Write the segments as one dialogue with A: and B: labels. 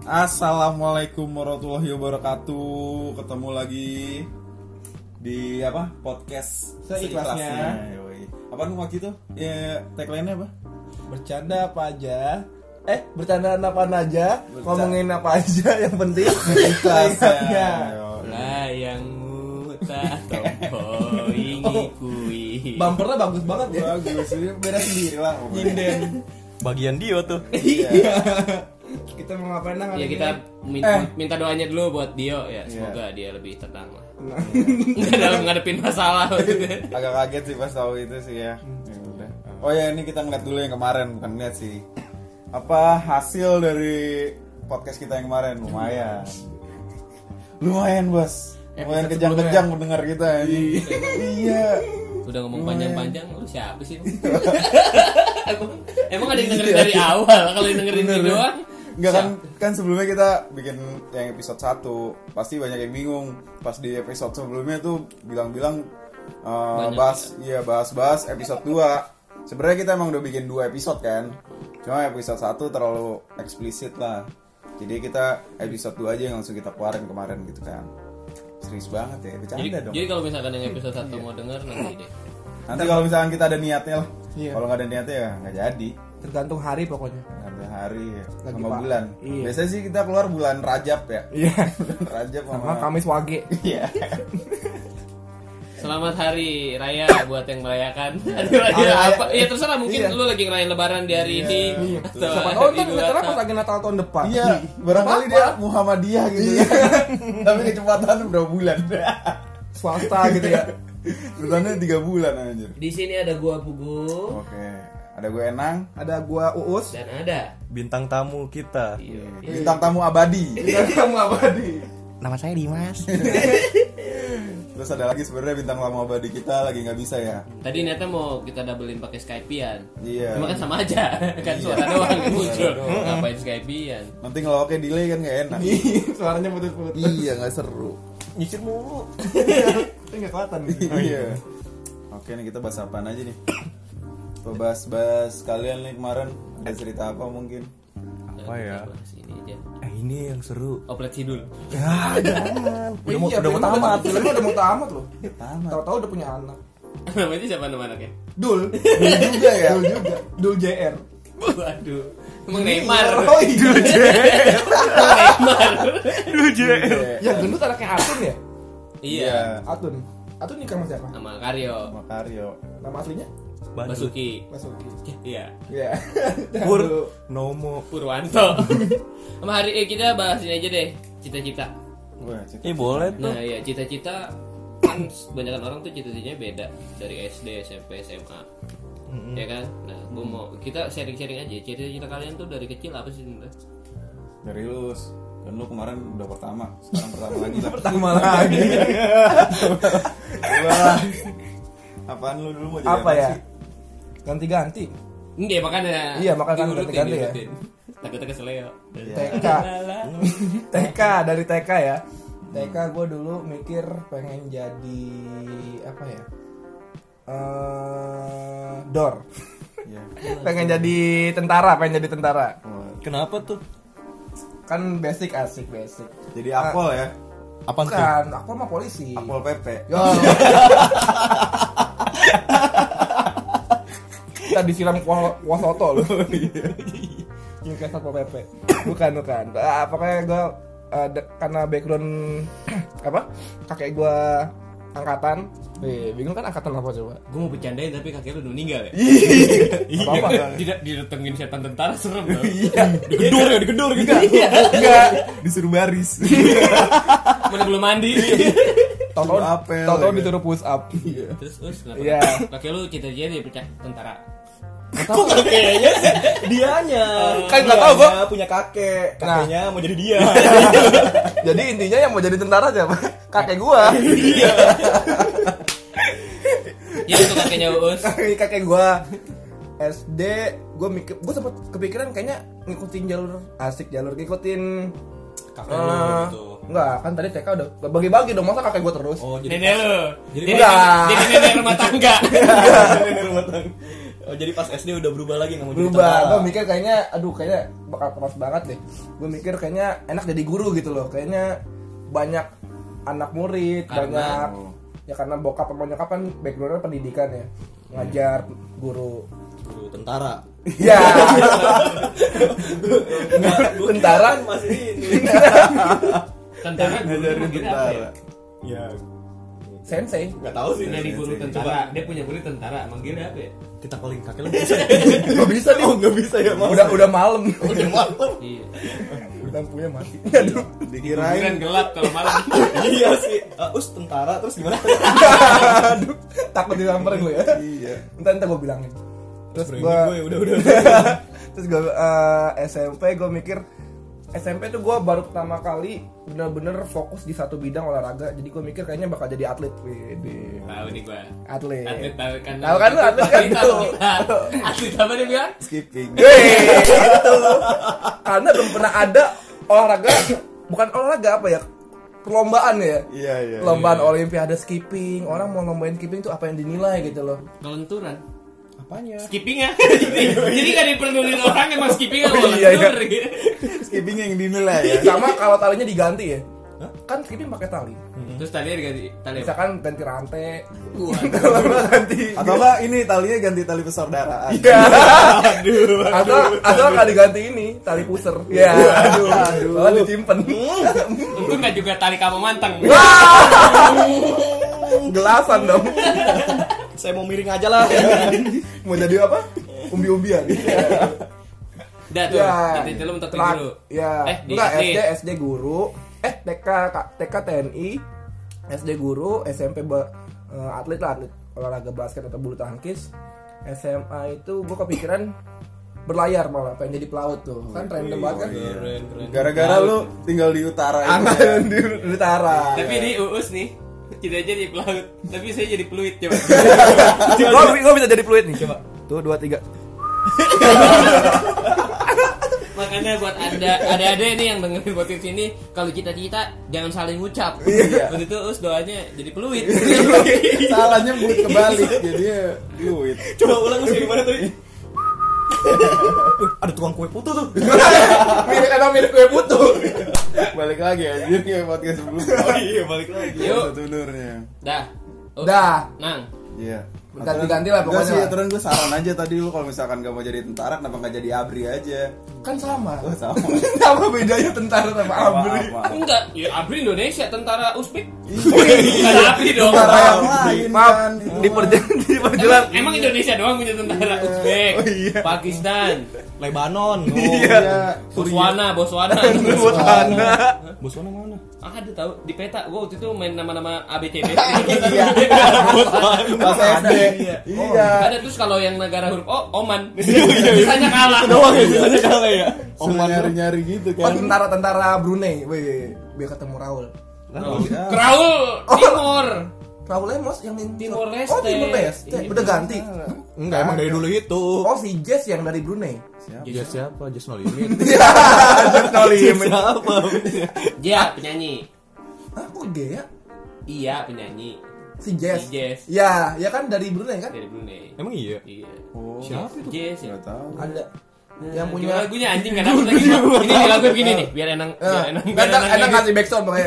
A: Assalamualaikum warahmatullahi wabarakatuh. Ketemu lagi di podcast
B: seikhlasnya.
A: Apaan waktu itu? Ya, tagline-nya apa?
B: Bercanda apa aja? Bercandaan apaan aja? Ngomongin apa aja yang penting
A: Ikhlasnya.
C: Layangmu tak tompoi ngikui.
B: Bumpernya bagus banget ya.
A: Bagus, ini beda sendiri lah.
B: Nyinden.
D: Bagian Dio tuh.
A: Iya.
B: Kita mau ngapain nang?
C: Ya kita minta doanya dulu buat Dio ya, semoga dia lebih tenang lah. Enggak dalam ngadepin masalah maksudnya.
A: Agak kaget sih pas tahu itu sih ya. Ya udah. Oh ya, ini kita ngeliat dulu yang kemarin, bukan ngeliat sih. Apa hasil dari podcast kita yang kemarin? Lumayan Bos. Lumayan kejang-kejang mendengar kita. Iya.
C: Udah ngomong panjang-panjang, lu siapa sih? emang ada yang dengerin dari awal? Kalau yang dengerin ini doang?
A: Enggak kan sebelumnya kita bikin yang episode 1. Pasti banyak yang bingung. Pas di episode sebelumnya tuh bilang-bilang bahas episode 2. Sebenarnya kita emang udah bikin 2 episode kan. Cuma episode 1 terlalu eksplisit lah. Jadi kita episode 2 aja yang langsung kita keluarin kemarin gitu kan. Serius banget ya, bercanda dong.
C: Jadi kalau misalkan yang episode 1 mau denger nanti deh.
A: Nanti kalau misalkan kita ada niatnya lah.
B: Iya.
A: Kalau nggak ada niatnya ya nggak jadi.
B: Tergantung hari pokoknya.
A: Ada hari ya.
B: Lagi
A: Sama
B: Pak.
A: bulan.
B: Iya.
A: Biasanya sih kita keluar bulan Rajab ya.
B: Iya.
A: Bulan Rajab
B: Sama Kamis Wage.
A: Iya.
C: Selamat hari raya buat yang merayakan. Hari apa? Ya terserah, mungkin lu lagi ngerayain lebaran di hari ini. Atau
B: Siapa tahu
C: hari
B: ntar
C: Idul
B: ternyata
C: Adha.
B: pas lagi Natal tahun depan.
A: Iya, barangkali dia Muhammadiyah gitu ya. Tapi kecepatan berapa bulan?
B: Swasta gitu ya.
A: Bertahannya 3 bulan anjir.
C: Di sini ada gua Pugu
A: Oke. Ada gue Enang,
B: Ada gua Uus.
C: dan ada
D: Bintang tamu kita.
A: bintang tamu abadi.
B: Kamu abadi.
D: Nama saya Dimas.
A: Terus ada lagi sebenarnya bintang tamu abadi kita lagi nggak bisa ya.
C: tadi niatnya mau kita doublein pakai Skype-an.
A: Iya.
C: Cuma kan sama aja, kan suara doang yang muncul. Ngapain Skype-an?
A: Nanti ngelawaknya delay kan nggak enak.
B: Suaranya putus-putus.
A: Iya, nggak seru.
D: Nyicir mulu.
B: Ini enggak kelihatan.
A: Iya. Oke nih kita bahas apaan aja nih? Bahas kalian nih kemarin ada cerita apa mungkin?
D: Apa ya?
C: Bahas ini aja.
D: Ini yang seru.
C: Oplet Sidul.
D: Ya, jangan. Udah mau
B: filmnya
D: tamat.
B: Filmnya udah mau tamat loh.
A: Tamat.
B: Tahu-tahu udah punya anak.
C: Namanya siapa nama anaknya?
B: Dul.
A: Dul juga ya.
B: Dul juga. Dul JR.
C: Waduh. Emang Neymar.
B: Oh iya. Dul JR.
C: Neymar.
B: Yang gendut anaknya Atun ya?
C: Iya.
B: Atun. Atun nikah sama siapa?
C: Sama Karyo.
A: Makario.
B: Nama aslinya?
C: Basuki.
B: Basuki.
C: Iya.
B: Iya.
D: Pur Nomo.
C: Purwanto. Sama hari kita bahas ini aja deh. Cita-cita.
A: Wah, cerita.
D: Boleh tuh.
C: Nah ya, cita-cita kan kebanyakan orang tuh cita-citanya beda dari SD, SMP, SMA. Ya kan? Nah, gua mau kita sharing-sharing aja. Cita-cita kalian tuh dari kecil apa sih sebenarnya?
A: Dari lulus. Dan lu kemarin udah pertama, sekarang pertama lagi lah.
B: Pertama lagi.
A: Wah. Apaan lu dulu mau jadi
B: Apa ya?
A: sih?
B: Ganti-ganti.
C: Enggak, makanya.
B: Iya, makanya kan
C: diurutin,
B: ganti-ganti ya.
C: diurutin. Takutnya keseleo.
B: TK. TK dari TK ya. TK gue dulu mikir pengen jadi apa ya? Dor.
A: Iya.
B: Pengen jadi tentara.
A: Oh,
D: Kenapa tuh?
B: Kan basic asik basic.
A: jadi Apol ya.
D: Apaan tuh?
B: Bukan, aku mah polisi.
A: Apol PP.
B: Yo. Kita disiram wasoto loh. Ini kayak satpol pp. Bukan. Pokoknya gue karena background apa? Kakek gue angkatan. Bingung kan angkatan apa coba?
C: Gue mau bercandain tapi kakek lu udah meninggal ya.
B: Apa-apa.
C: Tidak didatengin setan tentara serem loh.
B: Iya.
C: Digedor gitu.
B: Enggak.
A: Disuruh baris.
C: Mana belum mandi.
A: Suruh apel,
B: Tahu-tahu
A: ya.
B: disuruh push up.
C: Terus kenapa?
B: Iya.
C: Kakek lu cita-cita jadi tentara.
D: Kok kakeknya sih? Dianya.
B: Kan nggak tahu gua.
D: Punya kakek.
B: Nah.
D: Kakeknya mau jadi dia.
B: Jadi intinya yang mau jadi tentara siapa? Kakek gua.
D: Iya.
C: Ya itu kakeknya Uus.
B: Kakek gua SD, gua sempet kepikiran kayaknya ngikutin jalur ngikutin
D: Kakek lu gitu.
B: enggak, kan tadi TK udah bagi-bagi dong, masa kakek gua terus?
D: Oh, jadi
C: Nenek lu.
D: Jadi
C: Jadi
B: enggak.
C: nenek rumah tangga.
D: nenek rumah tangga. Oh, jadi pas SD udah berubah lagi nggak mau jadi
B: Berubah.
D: tentara.
B: Gue mikir kayaknya bakal keras banget deh. Gue mikir kayaknya enak jadi guru gitu loh. Kayaknya banyak anak murid, banyak ya karena bokap sama nyokap kan backgroundnya pendidikan ya, ngajar guru.
D: Guru tentara.
B: Ya. Tentara
D: Masih ini.
C: Tentara guru
A: Ngajarin
C: manggilnya apa ya?
A: tentara.
D: Ya,
B: sensei.
D: nggak tahu sih.
C: Jadi guru tentara, dia punya guru tentara, manggilnya apa ya?
D: Kita calling kakek lu bisa.
B: Gak bisa nih.
D: Oh, nggak bisa ya, Mas.
B: Udah malam.
D: Udah malam.
C: Iya.
B: Lampunya mati. Aduh.
C: Kirain
A: Dikirain
C: gelap kalau malam.
D: Iya sih. Tentara terus gimana?
B: Aduh. Takut disamperin gue ya.
A: iya.
B: Entar gue bilangin. Terus
D: Berani
B: gue
D: gue udah.
B: terus gue SMP gue mikir SMP tuh gue baru pertama kali bener-bener fokus di satu bidang olahraga. Jadi gue mikir kayaknya bakal jadi atlet. Wede.
C: Tahu nih gua.
B: Atlet.
C: Atlet tahu kan.
B: Tahu kan lu atlet kan
C: Tahu.
B: tuh.
C: Atlet apa dia bilang?
A: Skipping.
B: Itu. Karena belum pernah ada olahraga, bukan olahraga apa ya? Perlombaan ya.
A: Iya.
B: Perlombaan olimpiade skipping. Orang mau lombain skipping tuh apa yang dinilai gitu loh.
C: Kelenturan.
D: Apanya?
C: Skipping ya. Jadi gak diperluin orang emang skipping apa
B: Oh, iya,
C: kelentur.
A: Skipping yang dinilai ya.
B: Sama kalau talinya diganti ya. Kan skipping pakai tali.
C: Terus tadi diganti tali apa?
B: Misalkan ganti rantai.
C: Wah.
B: Kalau nggak ganti.
A: Atau enggak ini talinya ganti tali persaudaraan.
B: Iya. Atau nggak diganti ini tali puser. Ya. Aduh. Soalnya disimpan.
C: Itu nggak juga tali kamu manteng.
B: Gelasan dong.
D: Saya mau miring aja lah.
B: Mau jadi apa? Umbi-umbian.
C: Dah tuh.
B: Ya.
C: Nanti lu mentok
B: Telat.
C: dulu.
B: Ya.
C: Di
B: Enggak
C: SD.
B: SD guru. TK TNI. SD guru, SMP atlet lah, atlet olahraga basket atau bulu tangkis. SMA itu gue kepikiran berlayar malah pengen jadi pelaut tuh. Kan random banget kan.
C: Keren.
A: Gara-gara lu tinggal di utara itu.
B: Angkatan di utara.
C: Tapi ini Uus nih. Tidak aja jadi pelaut, tapi saya jadi peluit coba.
B: Gue bisa jadi fluid nih, coba. Tuh 2 3.
C: Makanya buat ada ini yang dengerin podcast ini, kalau cita-cita jangan saling ucap.
A: Iya.
C: Waktu itu Uus doanya jadi peluit.
A: Salahnya buat kebalik jadinya fluid.
D: Coba ulang sih gimana tadi? Ada tukang kue putu tuh.
B: Mirip kue putu.
A: Balik lagi anjir kayak podcast sebelumnya.
D: Oh iya, balik lagi.
C: Yuk.
A: Sebenarnya.
C: Dah. Us.
B: Dah.
C: Nang.
A: Iya.
B: Ganti-ganti lah
A: Enggak
B: pokoknya
A: sih,
B: lah.
A: aturan gue saran aja tadi lu kalau misalkan gak mau jadi tentara kenapa gak jadi abri aja.
B: Kan sama.
A: Oh sama.
B: Apa bedanya tentara sama abri?
A: Maaf.
C: Enggak, ya Abri Indonesia, tentara Uzbek.
A: Iya.
C: Bukan Abri dong.
A: Tentara yang lain
B: Maaf,
A: kan.
B: di perjalanan
C: Emang Indonesia doang punya tentara Uzbek,
A: Oh, iya.
C: Pakistan,
D: Lebanon.
A: Iya.
C: Botswana.
B: Botswana.
D: Botswana mana?
C: Ada tahu di peta. Gua waktu itu main nama-nama ABCD.
A: Iya. Pas SD. Iya.
C: Ada terus kalau yang negara huruf O, Oman. Sisanya kalah.
D: Doang ya, biasanya kalah ya.
A: Suka nyari-nyari gitu
B: Oh,
A: kan.
B: tentara Brunei. Wih, biar ketemu Raul.
C: Kraul Timur.
B: Raul Lemos yang di
C: Timor Leste.
B: Oh, Timor Leste.
C: Iya,
B: Udah ganti.
D: Enggak, emang dari dulu itu.
B: Oh, si Jess yang dari Brunei.
D: Jess siapa? Jess No Limit.
B: No limit.
D: Siapa?
C: Dia penyanyi.
B: Hah, kok gaya?
C: Iya, penyanyi
B: Si Jess.
C: Si Jess.
B: Ya, ya kan dari Brunei kan?
C: dari Brunei.
D: Emang iya?
C: Iya.
A: Oh.
D: Siapa itu?
C: Jess ya.
A: Enggak tahu.
B: Ada
C: Nah,
B: yang
C: gimana
B: punya
C: lagunya anjing kan dapet lagi. Ini di lagu begini nih, biar enak,
B: enak kasih backsound makanya.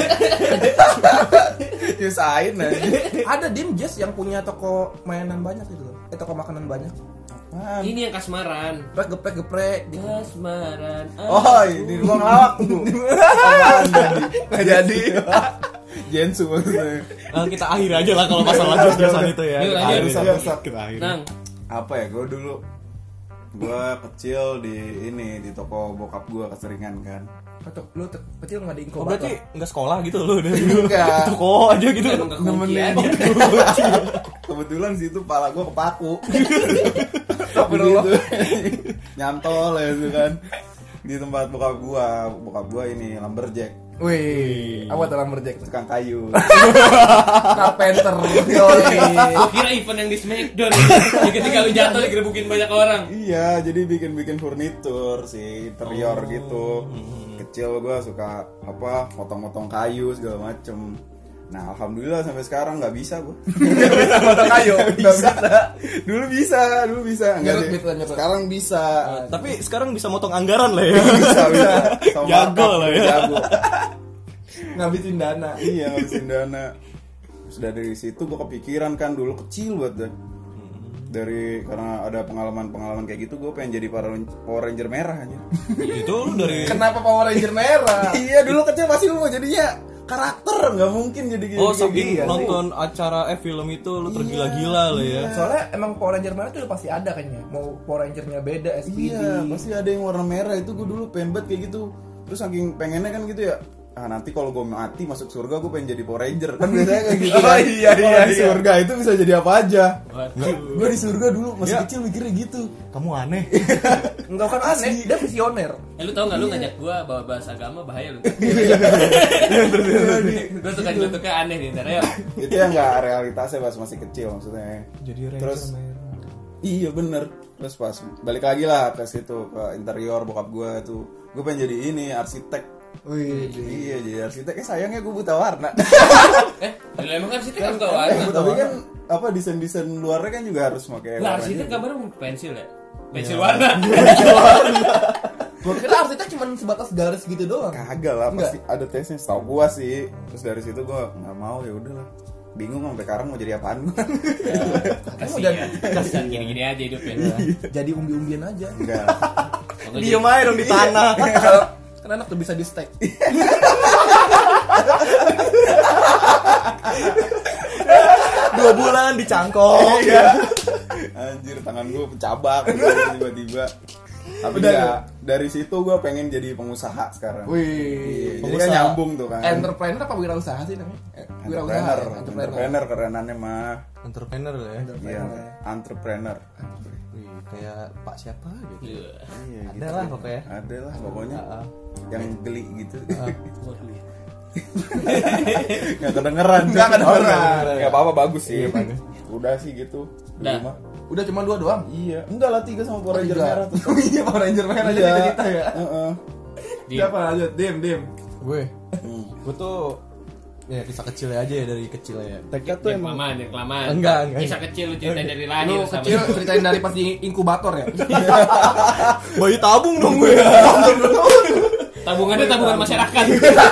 A: Nyusahin aja.
B: Ada Dim Jess yang punya toko mainan banyak gitu loh. Toko makanan banyak.
A: Apaan?
C: Ini yang kasmaran.
B: Geprek gitu.
C: Kasmaran.
A: Oh, di ruang lawak tuh. Apaan tadi?
B: Nggak jadi.
A: Jensu maksudnya.
D: Kita akhir aja lah kalau masalah jus-jusan itu ya.
C: Yuk,
D: Kita
C: lanjut.
D: akhir.
A: Rusak-rusak.
D: Kita akhir.
C: Nang,
A: Apa ya? Gue kecil di toko bokap gue keseringan kan.
B: Atau lu kecil nggak di
D: Oh,
B: inkubator?
D: berarti enggak sekolah gitu loh dari dulu.
A: Enggak.
D: Itu kok aja gitu.
C: emang kekunci
A: Nemenin.
C: aja.
A: Kebetulan situ pala gue kepaku.
B: Astagfirullah.
A: Gitu. Nyantol ya itu kan. Di tempat bokap gua ini lumberjack,
B: Wih, apa tuh lumberjack?
A: tukang kayu.
B: Carpenter. Yoi.
C: Gua kira event yang di Smackdown. Jadi ketika lu jatuh digerebukin banyak orang.
A: Iya, jadi bikin furnitur sih, interior gitu. Kecil gua suka potong-potong kayu segala macem. Nah alhamdulillah sampai sekarang nggak bisa gue.
B: Ayo,
A: Nggak bisa. Dulu bisa. Nggak
B: Nyerut,
A: deh.
B: nyerut.
A: Sekarang bisa.
D: Tapi sekarang bisa motong anggaran lah ya.
A: Bisa. Sama
D: Jago
A: markup,
D: lah ya.
A: Jago.
B: ngabisin dana.
A: Iya ngabisin dana. Sudah dari situ gue kepikiran kan dulu kecil banget dah. Karena ada pengalaman kayak gitu gue pengen jadi Power Ranger merah aja.
D: Itu lu dari
B: Kenapa Power Ranger merah?
A: Iya dulu kecil pasti lu mau jadinya karakter, nggak mungkin jadi kayak
D: Oh,
A: kayak
D: saking
A: gini.
D: nonton acara film itu lu tergila-gila lah ya.
B: Soalnya emang Power Ranger merah tuh udah pasti ada kayaknya. Mau Power Rangernya beda, SPD.
A: Iya, pasti ada yang warna merah itu gue dulu pengen banget kayak gitu. Terus saking pengennya kan gitu ya. Nanti kalau gue mati masuk surga gue pengen jadi Power Ranger. Kan biasanya kayak gitu.
B: Oh, iya,
A: Kalau di surga itu bisa jadi apa aja.
C: Waduh.
A: Gue di surga dulu masih
D: Ya.
A: kecil mikirnya gitu.
D: Kamu aneh.
B: Enggak kan aneh, dia visioner.
C: Lu tau gak lu ngajak gua bawa bahasa agama bahaya lu. Gua suka juga aneh nih ntar ya.
A: Itu yang nggak realitasnya pas masih kecil maksudnya.
D: Jadi Ranger
A: Terus
D: merah.
A: iya bener. Terus pas balik lagi lah ke situ ke interior bokap gue tuh. Gue pengen jadi ini arsitek.
B: Wih,
A: Iya jadi arsitek. Sayangnya gue buta warna.
C: Lu emang kan situ kan tau warna.
A: Tapi kan apa desain luarnya kan juga harus pakai
C: Lah
A: warna
C: situ
A: juga.
C: gambar pensil ya. Pensil warna.
B: gua kira arsitek cuma sebatas garis gitu doang.
A: Kagak lah
B: Enggak.
A: pasti ada tesnya. Setahu gue sih. Terus dari situ gue nggak mau ya udahlah. Bingung sampai sekarang mau jadi apaan gue.
C: Kasihan gini-gini aja hidupnya.
B: Jadi umbi-umbian aja.
A: Enggak.
D: Diem aja dong di tanah.
B: Kan enak tuh bisa di stack.
D: 2 bulan dicangkok.
A: Anjir tangan gue pencabak tiba-tiba. Tapi ya, dari situ gue pengen jadi pengusaha sekarang.
B: Wih,
A: Jadi kan nyambung tuh kan.
B: entrepreneur apa wirausaha sih namanya? Wirausaha.
A: Entrepreneur kerenannya mah.
D: Entrepreneur lah ya.
A: Iya, entrepreneur.
D: Wih, kayak Pak siapa gitu.
C: Iya.
A: Iya,
D: Ada lah pokoknya.
A: Ada lah pokoknya. Yang geli gitu. Nggak kedengeran.
B: Nggak kedengeran.
A: Nggak apa-apa bagus sih.
D: Iya, bagus.
A: Udah sih gitu. Di
C: Dah.
A: rumah.
B: Udah cuma 2 doang.
A: Iya. Enggak lah 3 sama Power Ranger merah tuh.
B: Oh iya Power Ranger merah
A: Iya.
B: jadi cerita ya.
A: Heeh.
B: Siapa lanjut? Dim.
D: Gue tuh ya kisah kecilnya aja ya dari kecil ya. TK tuh
C: Yang
D: emang
C: kelamaan.
D: Enggak.
C: Kisah kecil lu ceritain dari lahir
B: Lu
C: sama
B: kecil ceritain dari pas di inkubator ya.
D: bayi tabung dong gue.
C: tabungannya tabungan masyarakat.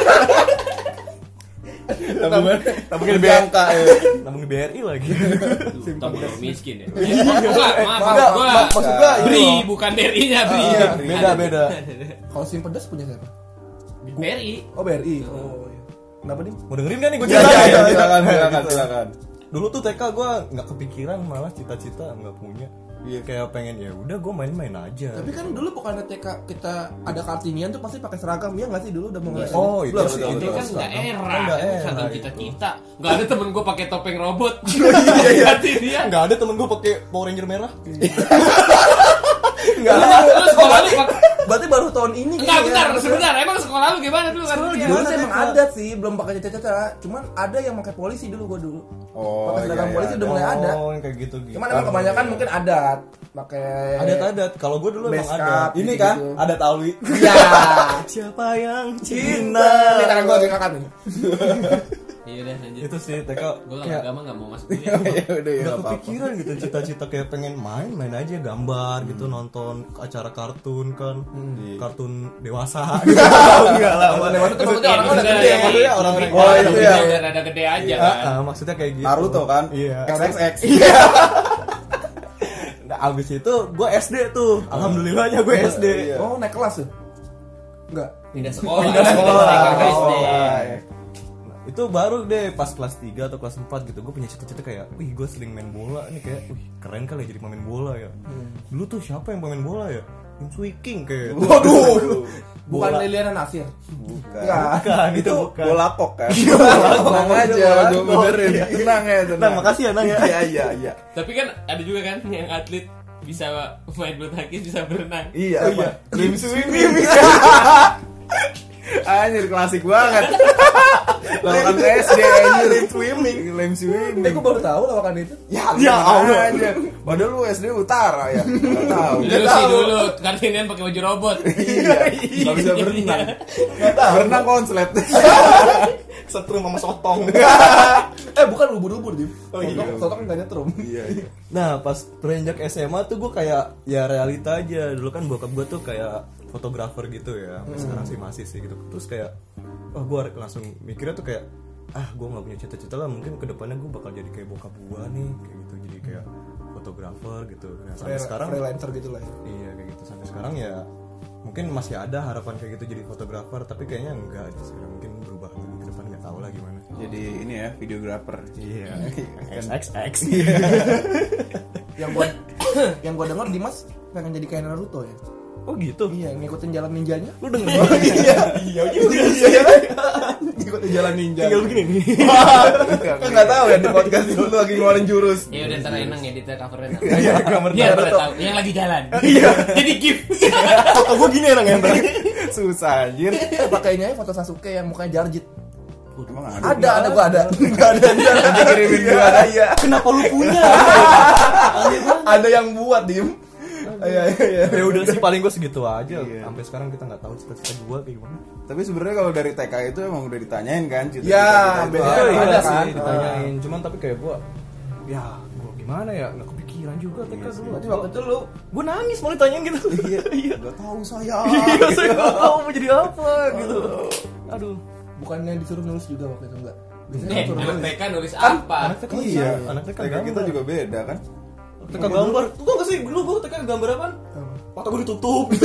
A: Tabungan BMK ya.
D: Tabung di BRI lagi.
C: Tabungan miskin ya. Maaf, gua
B: Maksud gua
C: BRI bukan BRI-nya, BRI.
D: Beda.
B: kalau sim pedas punya siapa?
C: BRI.
B: Oh BRI. Oh iya. Kenapa nih?
D: Mau dengerin gak nih gue
A: Iya,
D: cerita?
A: iya, silakan.
D: Dulu tuh TK gue nggak kepikiran, malah cita-cita nggak punya. Iya kayak pengen ya udah gue main-main aja.
B: Tapi kan dulu bukan TK kita ada Kartinian tuh pasti pakai seragam ya nggak sih dulu udah mau ngasih.
D: Oh, itu
B: Belum
D: betul,
B: sih,
C: Ini
D: betul.
C: kan daerah,
D: Kan daerah,
C: saking
D: gitu.
C: cita-cita. Gak ada temen gue pakai topeng robot.
D: Iya.
C: Ganti dia.
D: Nggak ada temen gue pakai Power Ranger merah.
B: Enggak.
C: Lu sekolah lu pakai.
B: Berarti baru tahun ini
C: Enggak, sebentar. Emang sekolah lu gimana dulu kan?
B: Dulu sih emang ada sih, belum pakai cita-cita. Cuman ada yang pakai polisi dulu gua dulu.
A: Oh,
B: Pakai seragam
A: iya,
B: polisi
A: iya.
B: udah mulai ada.
D: Oh, yang kayak gitu.
B: Cuman emang kebanyakan mungkin adat pakai
D: Adat-adat. Kalau gue dulu emang
B: base
D: ada.
B: cap,
A: Ini
B: gitu-gitu.
A: kan ada Tawi.
B: Iya.
D: Siapa yang
B: Cinta. Ini tangan gua kakak nih.
C: Iya udah lanjut.
D: Itu sih TK
C: Gue
D: kayak
C: agama gak mau masuk kuliah.
A: Ya udah ya
D: nggak
A: apa-apa.
D: kepikiran gitu cita-cita kayak pengen main aja gambar gitu nonton acara kartun kan kartun dewasa enggak lah
B: Kalau dewasa tuh maksudnya orang udah
C: Iya,
B: gede.
C: iya,
D: maksudnya orang-orang
A: Oh, itu ya.
C: Udah rada gede aja kan.
D: maksudnya kayak gitu
A: Naruto kan?
D: iya
A: XXX.
D: nah abis itu gue SD tuh alhamdulillahnya gue SD
A: Iya.
B: Oh, naik kelas tuh. Enggak.
C: Pindah sekolah.
A: Oh,
C: SD.
D: itu baru deh pas kelas 3 atau kelas 4 gitu gue punya cita-cita kayak wih gue sering main bola nih kayak wih keren kali ya jadi pemain bola ya dulu tuh siapa yang pemain bola ya Im Swee King kayak
B: Waduh. Bukan
D: Bola.
B: Liliana Nasir.
A: Bukan.
B: Enggak.
D: itu bukan
A: Bola kok kan?
B: Tenang aja,
A: Gue benerin. Tenang ya,
D: nah
A: tenang.
D: makasih ya Nang ya
A: Iya.
C: Tapi kan ada juga kan yang atlet bisa main bulu tangkis bisa berenang.
A: Iya,
B: iya.
A: Lim swimming. Anjir klasik banget. Lawakan SD anjir.
D: Lem swimming.
A: Lem swimming.
B: Gue baru tahu lawakan itu.
A: Ya
D: Allah.
A: aja. Padahal lu SD Utara ya. Enggak tahu.
C: Dulu sih dulu kartinian pakai baju robot.
A: Iya. Enggak bisa berenang. Enggak tahu. Berenang konslet.
D: Setrum sama sotong.
B: Bukan ubur-ubur, Dim.
D: Oh, iya.
B: Sotong kan nyetrum.
A: Iya.
D: Nah pas beranjak SMA tuh gue kayak ya realita aja. Dulu kan bokap gue tuh kayak fotografer gitu ya. Sampai sekarang sih masih sih gitu. Terus kayak gue langsung mikirnya tuh kayak gue nggak punya cita-cita lah, mungkin kedepannya gue bakal jadi kayak bokap gue nih kayak gitu, jadi kayak fotografer gitu. Nah sampai sekarang
B: freelancer gitu lah ya.
D: iya kayak gitu, sampai sekarang ya mungkin masih ada harapan kayak gitu jadi fotografer, tapi kayaknya enggak aja sekarang, mungkin berubah lagi ke depan, nggak tahu lah gimana.
A: Jadi ini ya videografer.
D: Iya. XXX.
B: Yang gua dengar Dimas pengen jadi kayak Naruto ya.
D: Oh gitu.
B: Iya, ngikutin jalan ninjanya.
D: Lu denger?
B: Iya juga. Ngikutin jalan ninja.
D: Tinggal begini nih.
B: Kan enggak tahu ya di podcast itu lu lagi ngeluarin jurus.
C: Ya udah ntar enang ya di covernya.
D: Iya, gambar
C: Biar pada
D: Naruto.
C: tahu yang lagi jalan.
D: Iya.
C: Jadi gift.
D: Foto gue gini orang yang
A: Susah anjir.
B: Pakainya foto Sasuke yang mukanya jarjit.
A: Emang
B: Ada gua ada. Enggak ada.
A: Nanti kirimin gua ada.
B: Iya.
D: Kenapa lu punya?
B: Ada yang buat, Dim. Iya.
D: Ya udah sih paling gue segitu aja.
A: Iya.
D: Sampai sekarang kita nggak tahu cita-cita gue kayak gimana.
A: Tapi sebenarnya kalau dari TK itu emang udah ditanyain kan
B: Ya,
A: cita-cita itu
B: biasanya
A: apa?
B: ada
D: ada
B: kan?
D: sih ditanyain. Cuman tapi kayak gue, ya gue gimana ya, nggak kepikiran juga TK dulu.
B: Berarti waktu itu lu
D: Gue nangis mau ditanyain gitu. Iya.
A: Gak tahu saya.
D: Iya, saya nggak tahu mau jadi apa gitu. Aduh.
B: bukannya disuruh nulis juga waktu itu enggak. Biasanya
C: Eh,
B: disuruh
C: anak
B: nulis.
C: TK nulis apa?
D: Anak TK
A: Iya.
D: anak TK
A: TK kita juga beda kan.
D: TK gambar. Tuh tau gak sih dulu gue TK gambar apaan? Mata gue ditutup gitu.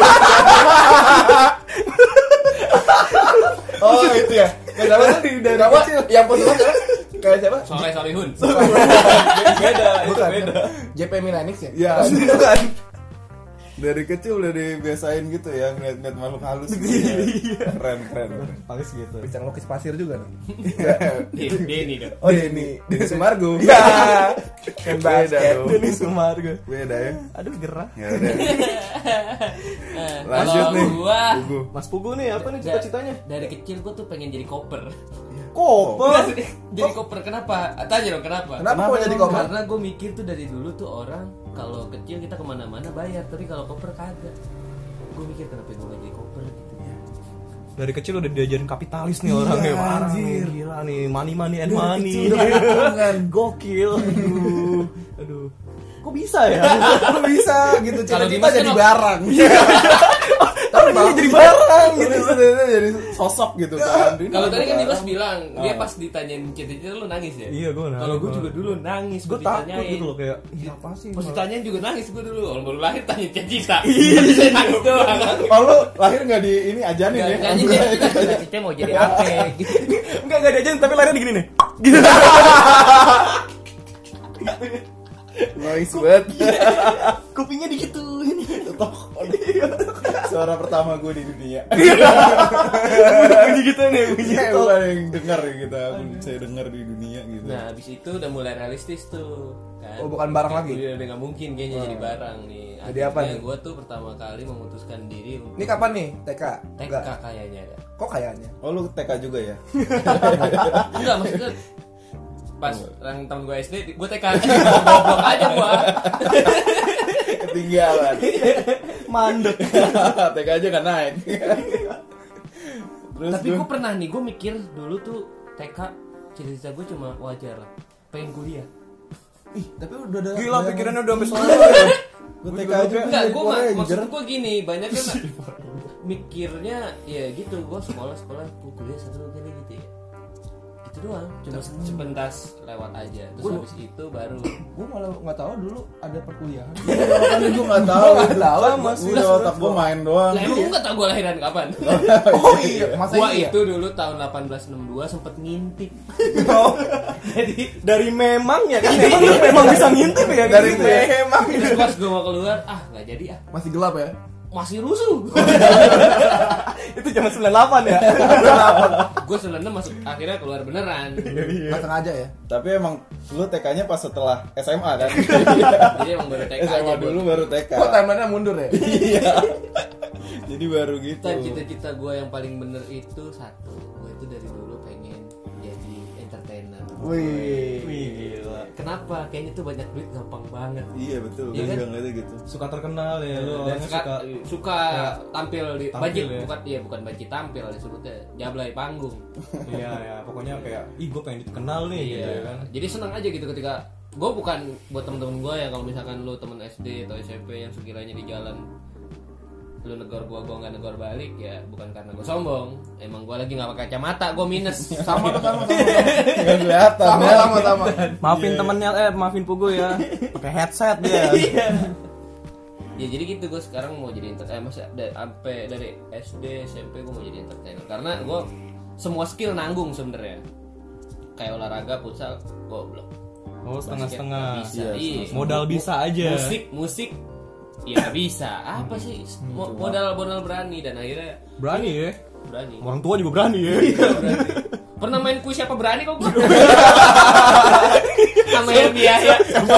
B: Oh itu ya. Kayak siapa?
A: Dari
B: Siapa?
A: kecil.
B: Yang positif siapa? Kayak siapa?
C: Soleh Solihun.
D: Beda,
B: Bukan.
D: beda.
B: JP Milanix ya?
A: Iya.
B: Bukan.
A: Dari kecil udah dibiasain gitu ya ngeliat-ngeliat makhluk halus. Keren.
D: Paling gitu.
B: Bisa ngelukis pasir juga nih.
C: Denny dong.
A: Oh Denny Sumargo.
B: Ya. Kan
A: Beda
B: basket.
A: dong.
D: Ini Sumargo.
A: Beda ya.
D: Aduh gerah.
A: Ya udah. Lanjut
C: Kalau
A: nih.
C: gua
A: Pugu.
D: Mas Pugu nih apa nih cita-citanya?
C: dari kecil gua tuh pengen jadi koper.
D: Koper.
C: Jadi koper kenapa? Tanya dong kenapa?
B: Kenapa mau jadi koper?
C: Karena gue mikir tuh dari dulu tuh orang kalau kecil kita kemana-mana bayar, tapi kalau koper kagak. Gue mikir kenapa gue gak jadi koper gitu ya.
D: Dari kecil udah diajarin kapitalis nih orang ya. Parah nih, gila nih, money and money.
B: Kan
D: Gokil. Aduh. Kok bisa ya?
B: Kok bisa gitu
C: Kalau
B: cita-cita
C: Dimas
B: jadi
C: kan
B: barang.
D: Tapi dia jadi barang
A: Gitu sebenarnya jadi sosok gitu kan.
C: Kalau tadi kan Dimas bilang dia pas ditanyain cita-cita lu nangis ya.
D: Iya, gua nangis.
C: Kalau gue juga dulu nangis.
D: Gue
C: Gua
D: takut
C: ditanyain.
D: gitu loh kayak, iya apa sih?
C: Pas ditanyain juga nangis gue dulu. Orang baru lahir tanya cita-cita. Iya, saya nangis doang.
A: Oh lu lahir nggak di ini ajanin ya?
C: Nyanyi cita-cita mau jadi apa gitu.
D: Enggak diajarin tapi lahirnya gini nih. Gitu.
A: Noise banget.
D: Kupingnya digituin.
A: Suara pertama gue di dunia.
D: Bunyi gitu nih, bunyi
A: Saya
D: gitu.
A: paling dengar ya kita. Saya dengar di dunia gitu.
C: Nah, habis itu udah mulai realistis tuh. Kan?
B: Oh, bukan barang lagi?
C: Udah nggak mungkin kayaknya jadi barang nih.
B: Jadi apa nih?
C: Gue tuh pertama kali memutuskan diri untuk
B: Ini kapan nih? TK?
C: TK kayaknya ya.
B: Kok kayaknya?
A: Oh lu TK juga ya?
C: Enggak, maksudnya pas orang tahun gue SD, gue TK goblok aja gue.
A: Ketinggalan.
D: Mandek.
A: TK aja kan naik. Terus
C: Tapi gue pernah nih, gue mikir dulu tuh TK cita-cita gue cuma wajar lah, pengen kuliah.
B: Ih, tapi udah ada.
D: Gila pikirannya udah sampai sana.
A: gue TK aja
C: Enggak,
A: jadi
C: gue
A: Power Ranger.
C: maksud gue gini, banyak kan mikirnya ya gitu, gue sekolah gue kuliah satu kali gitu ya. Gitu doang, cuma sepentas lewat aja. Terus habis itu baru
B: Gue malah nggak tahu dulu ada perkuliahan.
A: Kan gue nggak tahu.
B: tahu.
A: Udah otak gue main doang.
C: lah emang gue gak tau gue lahiran kapan.
B: Oh iya, masa
C: Gua
B: iya?
C: itu dulu tahun 1862 sempet ngintip.
D: Oh,
C: Jadi
D: dari memang ya kan memang bisa ngintip ya
B: Dari
D: gitu ya.
B: memang
C: terus pas gue mau keluar, nggak jadi
B: masih gelap ya.
C: masih rusuh.
D: Itu zaman 98 ya.
C: Gue 96 masuk akhirnya keluar beneran.
B: Nggak sengaja ya.
A: Tapi emang lu TK-nya pas setelah SMA kan?
C: Jadi emang baru TK aja
A: SMA
C: gua.
A: dulu baru TK.
B: Kok timeline-nya mundur ya?
A: Iya. Jadi baru gitu.
C: Dan cita-cita gue yang paling bener itu satu, gue itu dari dulu pengen
B: Wih.
D: gila.
C: Kenapa? Kayaknya tuh banyak duit gampang banget.
A: Iya betul,
C: Iya
A: gue
C: kan?
A: juga ngeliatnya gitu.
D: Suka terkenal ya lu
C: Dan
D: orangnya
C: suka tampil di
D: Tampil
C: bajik
D: ya.
C: bukan bajik tampil disebutnya jablay panggung.
D: Iya ya, pokoknya kayak ih gue pengen dikenal nih gitu ya kan.
C: Jadi senang aja gitu ketika gue bukan buat temen-temen gue ya, kalau misalkan lu temen SD atau SMP yang sekiranya di jalan lu negor gue nggak negor balik, ya bukan karena gue sombong, emang gue lagi nggak pakai kacamata, gue minus.
B: Sama.
A: Nggak kelihatan ya.
B: Sama.
D: Maafin temennya, maafin Pugu ya. Pakai headset dia.
C: Ya jadi gitu, gue sekarang mau jadi sampai dari SD SMP gue mau jadi entertainer karena gue semua skill nanggung sebenarnya. Kayak olahraga futsal goblok.
D: Oh, setengah-setengah.
C: Bisa.
A: Iya,
C: Iya.
D: Modal bisa aja.
C: Musik ya nggak bisa. Apa sih modal berani, dan akhirnya
D: Berani ya.
C: berani.
D: Orang tua juga berani ya.
C: Berani. Pernah main kuis siapa berani kok gue? Sama yang biasa.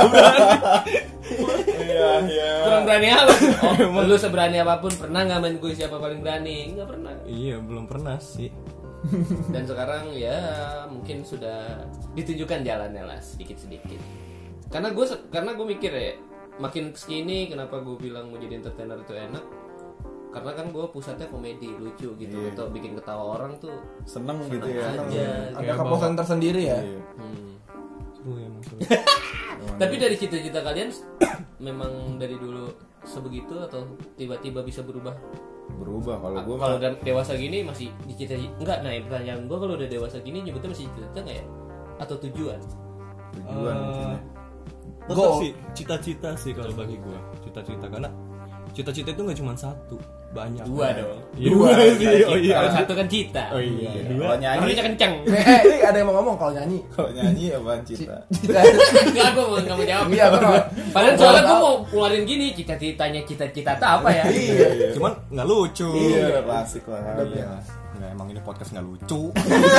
A: Iya.
C: Kurang berani apa? Oh, lu seberani apapun pernah nggak main kuis siapa paling berani? Nggak pernah.
D: Iya, belum pernah sih.
C: Dan sekarang ya mungkin sudah ditunjukkan jalannya lah sedikit-sedikit. Karena gue mikir ya, makin kesini kenapa gue bilang mau jadi entertainer itu enak, karena kan gue pusatnya komedi lucu gitu, atau bikin ketawa orang tuh
A: Seneng gitu ya.
C: aja.
B: Ada kepuasan tersendiri ya.
A: Iya.
D: Seru ya, emang seru.
C: Tapi dari cita-cita kalian memang dari dulu sebegitu atau tiba-tiba bisa berubah?
A: Berubah kalau gue
C: Kalau udah dewasa gini masih dicita-cita enggak? Nah, pertanyaan gue, kalau udah dewasa gini nyebutnya masih cita-cita nggak ya? Atau tujuan?
A: tujuan mungkin ya.
D: Tetap sih cita-cita sih kalau bagi gua. Cita-cita karena cita-cita itu nggak cuma satu, banyak.
C: Dua dong.
D: Dua sih. Oh iya.
C: Kalau satu kan cita.
D: Oh iya.
A: Kalau nyanyi,
C: Harusnya kenceng.
B: Ini ada yang mau ngomong kalau nyanyi.
A: kalau nyanyi apaan cita?
C: Enggak, gue nggak mau jawab.
B: Iya, benar.
C: Padahal soalnya gue mau keluarin gini, cita-citanya cita-cita tuh apa ya?
B: Iya.
D: Cuman nggak lucu.
A: Iya, klasik lah.
D: Iya. Nggak, emang ini podcast nggak lucu.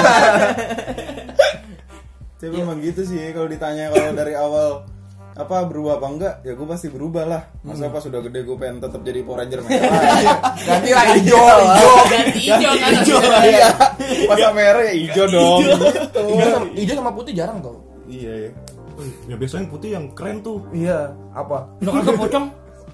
A: Tapi emang gitu sih kalau ditanya kalau dari awal apa berubah apa enggak, ya gue pasti berubah lah. Masa pas sudah gede gue pengen tetap jadi Power Ranger merah.
B: Ganti lah hijau.
C: Ganti hijau kan?
A: Iya. Masa merah ya hijau dong. Gitu.
B: Hijau sama putih jarang tuh.
A: Iya ya.
D: Ya biasanya yang putih yang keren tuh.
B: Iya, apa?
C: Lo kagak pocong?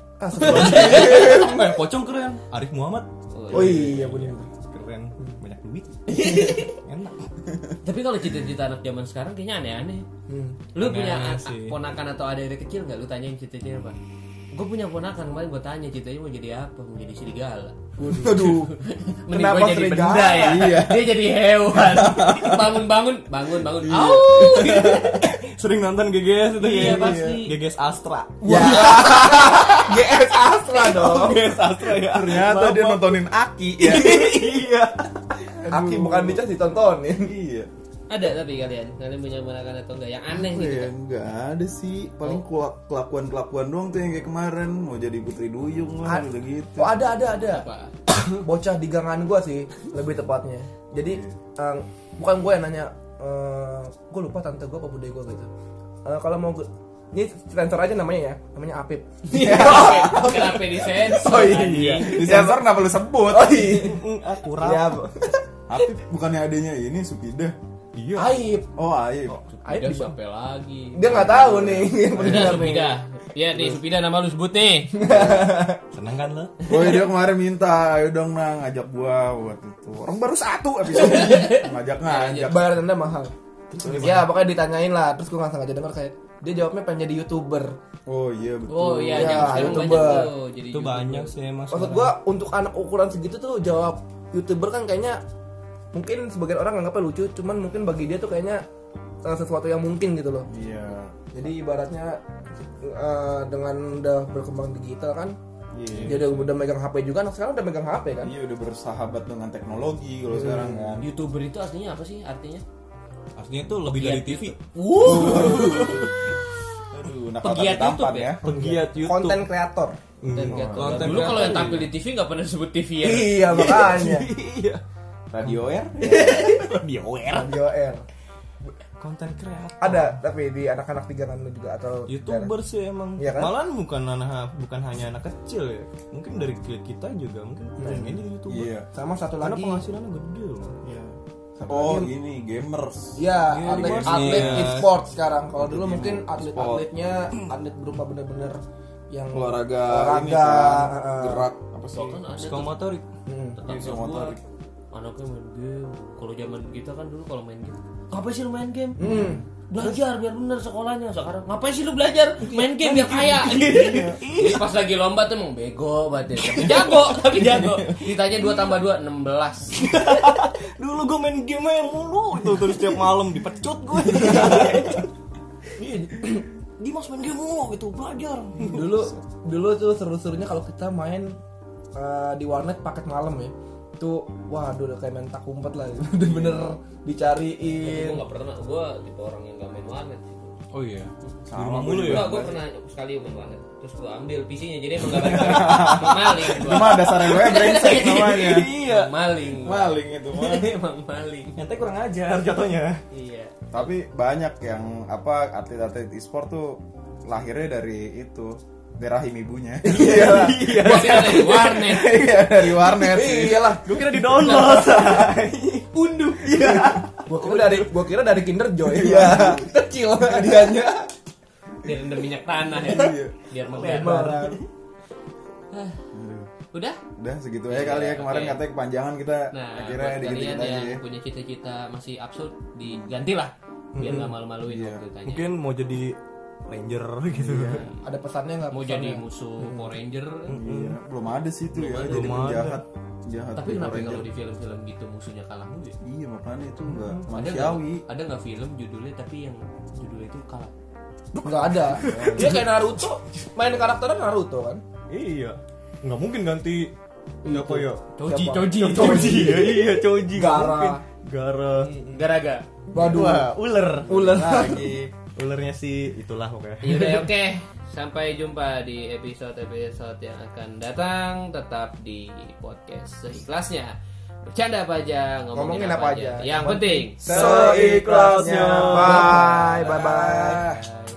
D: Yang pocong keren. Arif Muhammad
B: Oh iya benar.
D: keren, banyak duit. Enak.
C: Tapi kalau cita-cita anak zaman sekarang kayaknya aneh-aneh. Lu punya
D: Aneh sih.
C: ponakan atau adik kecil nggak? Lu tanyain cita-citanya apa? Gue punya ponakan, kemarin gue tanya citanya mau jadi apa? Mau jadi serigala.
B: Aduh.
C: Mending
B: Kenapa
C: gue jadi
B: serigala?
C: benda ya.
A: Iya.
C: Dia jadi hewan. bangun. Au.
D: Sering nonton GGS itu
C: Iya,
D: ya.
C: pasti.
D: GGS Astra.
B: Ya. GS Astra dong.
D: GGS Astra ya.
A: Ternyata dia nontonin Aki ya.
D: Iya.
B: Aki bukan dicas ditontonin.
A: Iya.
C: Ada tapi kalian punya ponakan atau enggak yang aneh
A: Apa
C: gitu
A: ya?
C: kan?
A: Enggak ada sih. Paling kelakuan doang tuh yang kayak kemarin mau jadi Putri Duyung lah udah gitu.
B: Oh ada.
C: Apa?
B: Bocah di gangan gua sih lebih tepatnya. Jadi bukan gue yang nanya, gue lupa tante gue apa bude gue gitu. Kalau mau ini sensor aja namanya ya, namanya Apip.
C: Kenapa disensor?
B: Oh iya.
A: Di sensor kenapa lu sebut?
B: Oh iya.
D: Kurang.
B: Ya,
A: Apip bukannya adanya ini Supida.
D: Iya.
B: Aib.
A: Oh, Aib.
B: Aib
C: Dia
B: bisa.
C: sampai lagi.
B: Dia nggak tahu nih.
C: Udah Supida. Ya nih Supida nama lu sebut nih.
D: Seneng kan lo?
A: Oh dia kemarin minta, ayo dong nang ngajak gua buat itu. Orang baru satu episode. Ngajak.
B: Bayar denda mahal. Ya pokoknya ditanyain lah. Terus gue nggak sengaja dengar kayak dia jawabnya pengen jadi YouTuber.
A: Oh iya betul.
C: Oh iya,
B: Ya,
C: zaman sekarang
B: YouTuber.
C: banyak tuh jadi
D: Itu
C: YouTuber.
D: banyak sih emang.
B: Maksud gue untuk anak ukuran segitu tuh jawab YouTuber kan kayaknya mungkin sebagian orang nganggapnya lucu, cuman mungkin bagi dia tuh kayaknya sesuatu yang mungkin gitu loh.
A: Iya.
B: Jadi ibaratnya dengan udah berkembang digital kan,
A: Iya.
B: dia udah megang HP juga, anak sekarang udah megang HP kan.
A: Iya udah bersahabat dengan teknologi kalau sekarang kan.
C: YouTuber itu aslinya apa sih artinya?
D: Artinya tuh lebih dari TV.
A: Aduh,
C: Pegiat
A: tampan
C: YouTube
A: ya.
D: Pegiat YouTube.
B: Konten kreator.
C: Dan
D: konten
C: dulu kalau yang
D: kreator,
C: tampil di TV nggak pernah disebut TV ya.
B: Iya makanya.
D: Iya.
A: Radio Air.
D: Dia aware.
B: Radio R.
D: Konten kreator.
B: Ada tapi di anak-anak tiga kan juga atau
D: YouTuber sih emang.
B: Iya kan?
D: Malahan bukan hanya anak kecil ya. Mungkin dari kita juga mungkin pengen jadi YouTuber.
A: Iya.
B: sama satu
D: Karena
B: lagi
D: penghasilannya gede loh.
A: Iya. Oh, ini gamers.
B: Ya,
D: gamers.
B: atlet
D: Iya.
B: e-sport sekarang. Kalau dulu mungkin atlet-atletnya atlet berupa bener-bener yang
A: Olahraga ini kan, gerak apa sih?
C: Kan ada tuh
D: Psikomotorik.
C: tetangga
A: psikomotorik.
C: gua, anaknya main game. Kalau zaman kita kan dulu kalau main game, ngapain sih lu main game?
B: Hmm.
C: Belajar biar bener sekolahnya. Sekarang ngapain sih lu belajar? Main game biar kaya. Jadi pas lagi lomba tuh emang bego banget ya. Tapi jago. Ditanya 2 tambah 2 16.
D: Dulu gue main game aja mulu itu terus tiap malam dipecut gue. Dimas main game mulu gitu belajar.
B: Dulu tuh seru-serunya kalau kita main di warnet paket malam ya. Itu waduh udah kayak main tak umpet lah. Bener-bener dicariin.
C: Gue nggak pernah. Gue tipe orang yang nggak main warnet.
D: Oh iya.
A: Sama
D: Rumah
A: gua
D: mulu
A: juga.
D: ya.
C: Gue pernah sekali main warnet. Terus gue ambil PC-nya. Jadi emang gak balik. Maling.
A: Itu mah dasarnya gue brengsek namanya.
D: Iya.
C: Maling.
A: Maling itu mah.
C: Emang maling.
D: Ente kurang ajar jatuhnya.
C: Iya.
A: Tapi banyak yang apa atlet-atlet e-sport tuh lahirnya dari itu, dari rahim ibunya.
B: Iya.
C: Gua kira dari warnet.
A: Iya, dari warnet sih.
B: Iyalah.
D: Gue kira di download.
B: Unduh. Iya. Gua kira dari Kinder Joy. Iya. Kecil hadiahnya.
C: Biar rendam minyak tanah ya. Biar
B: Lebaran.
C: Udah?
A: Udah segitu aja kali ya, kemarin
C: Oke.
A: katanya kepanjangan kita
C: Nah,
A: akhirnya
C: buat
A: dikit-dikit
C: kalian
A: aja
C: yang
A: ya.
C: punya cita-cita masih absurd, digantilah. Biar nggak malu-maluin
A: Iya.
C: waktu ditanya.
D: Mungkin mau jadi ranger gitu.
B: Ada pesannya nggak?
C: Mau
B: pesannya?
C: jadi musuh Power Ranger.
A: Iya, belum ada sih itu ya, jadi
D: Belum ada.
A: penjahat. Jahat
C: Tapi
A: di
C: kenapa
A: Power
C: kalau
A: Ranger.
C: di film-film gitu musuhnya kalah mulu ya?
A: Iya, makanya itu enggak
C: Ada
A: manusiawi.
C: ada nggak film judulnya tapi yang judulnya itu kalah?
B: Nggak ada. Dia kayak Naruto. Main karakternya Naruto kan?
D: Iya. Nggak mungkin ganti apa ya?
B: Siapa?
D: Choji. Iya, Choji. Nggak
B: Gara.
D: mungkin. Gara.
C: Garaga.
B: Waduh.
D: Wah, ular.
B: Ular.
D: Lagi. Ularnya sih itulah pokoknya.
C: Yaudah oke. Sampai jumpa di episode-episode yang akan datang. Tetap di podcast seikhlasnya. Bercanda apa aja, ngomongin apa aja. Yang penting
B: Seikhlasnya. Bye. Bye.
C: Bye.